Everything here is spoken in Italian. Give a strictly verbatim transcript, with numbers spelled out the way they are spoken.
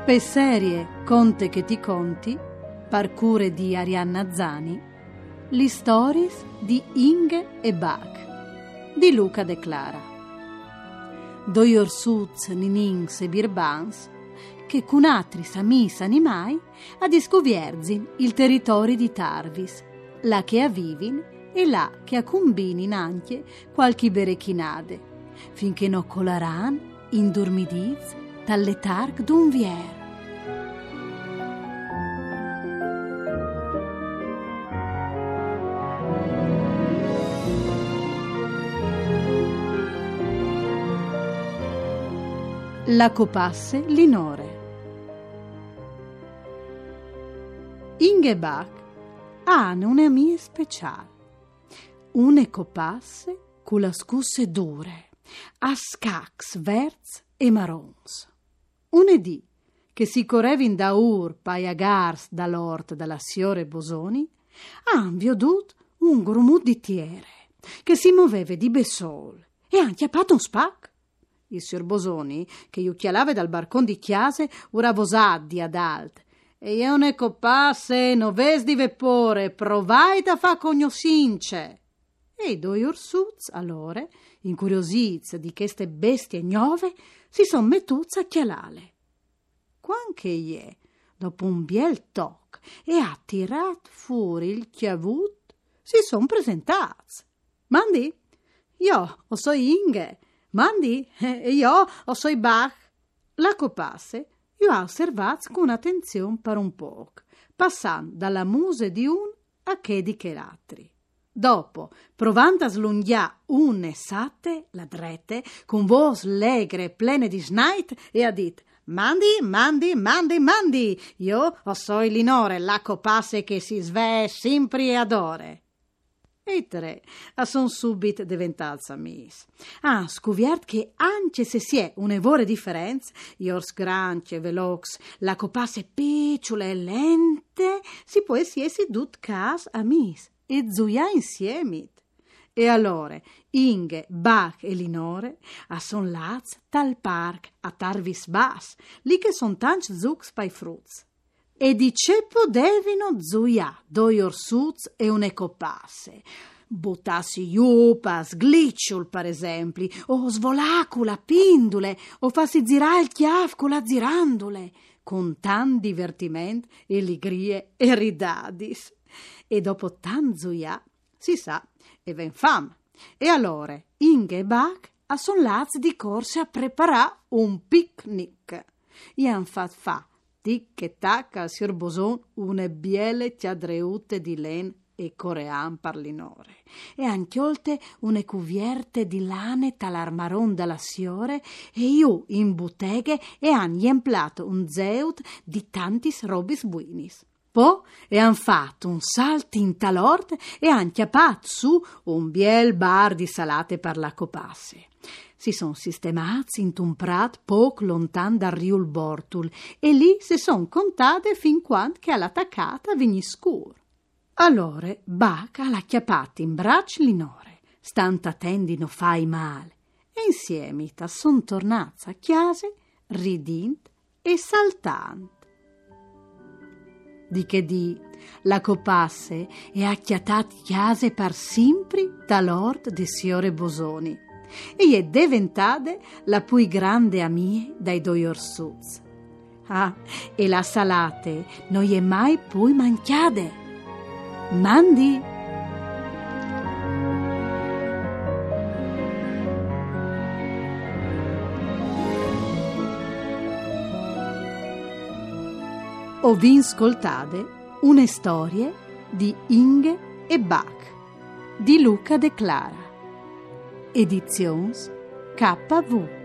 Per serie Conte che ti conti, parcure di Arianna Zani, le stories di Inge e Bach di Luca De Clara. Doi orsuz, ninins e birbans che con altri samis animai a discovierzin il territorio di Tarvis, là che avvivin e là che accombinin anche qualche berechinade, finché no colaran indormidiz dal letarg d'un vier. La copasse Linore. Inge e Bach hanno una mia speciale, une copasse con la scusse dure, a scacs verts e marons. Unedì, che si correvin da ur paiagars dall'ort dalla signore Bosoni, han vedut un grumut di tiere, che si muoveva di besol e han chiappato un spac. Il signor Bosoni, che iucchialava dal barcon di chiase, ura vosaddi ad alt, e io ne copasse, no ves di vepore, provai da fa cognosince. E i due orsuz, allora, incuriosiz di queste bestie gnove, si son mettuz a chialale. Quanche ie, dopo un biel toc, e ha tirat fuori il chiavut, si son presentaz. Mandi, io o so Inge, mandi, e io o so Bach. La copasse io ha osservat con attenzione per un poc, passando dalla muse di un a che di che l'altri. Dopo, provando a slunghià un e sate, la drete, con voce legre plene di snait, e ha dit: Mandi, mandi, mandi, mandi, io o so Linore, la copasse che si sve sempre e adore. E i tre a son subit diventats amis. Ah, scoviert che anche se si è un'evore differenza, iors granche, velox, la copasse picciole e lente, si può si essi dut cas amis e zuia insieme. E allora Inge, Bach e Linore a son laz tal parc a Tarvis Bas, lì che son tanti zucs pai fruz. E di ce podevino zuia doi orsuz e une copasse. Buttassi iupas, gliciul, per esempio, o svolacula, pindule, o fassi zirà il chiaf con la zirandole, con tan divertiment e ligrie e ridadis. E dopo tan zuia, si sa, e ven fam. E allora Inge e Bach a son laz di corse a preparà un picnic. E han fat fa tic e tac al signor Boson une biele chiadreute di len e corean per Linore, e anche olte une cuvierte di lane talarmaron dalla siore, e io in botteghe e han emplato un zeut di tantis robis buinis. Po e han fatto un salto in talort e han chiappato su un biel bar di salate per la copasse. Si son sistemati in un prat poc lontan dal riul Bortul e lì si son contate fin quando che all'attaccata vigni scur. Allora Bach ha chiappata in braccio Linore, stanta tendino fai male, e insieme ta son tornati a chiase, ridint e saltant. Di che di, la copasse e acchiatati chiase per sempre talord de signore Bosoni, e è diventata la più grande amie dai due orsuz. Ah, e la salate non è mai più manchiade. Mandi! Ho vi ascoltate une storie di Inge e Bach di Luca De Clara. Edizions K V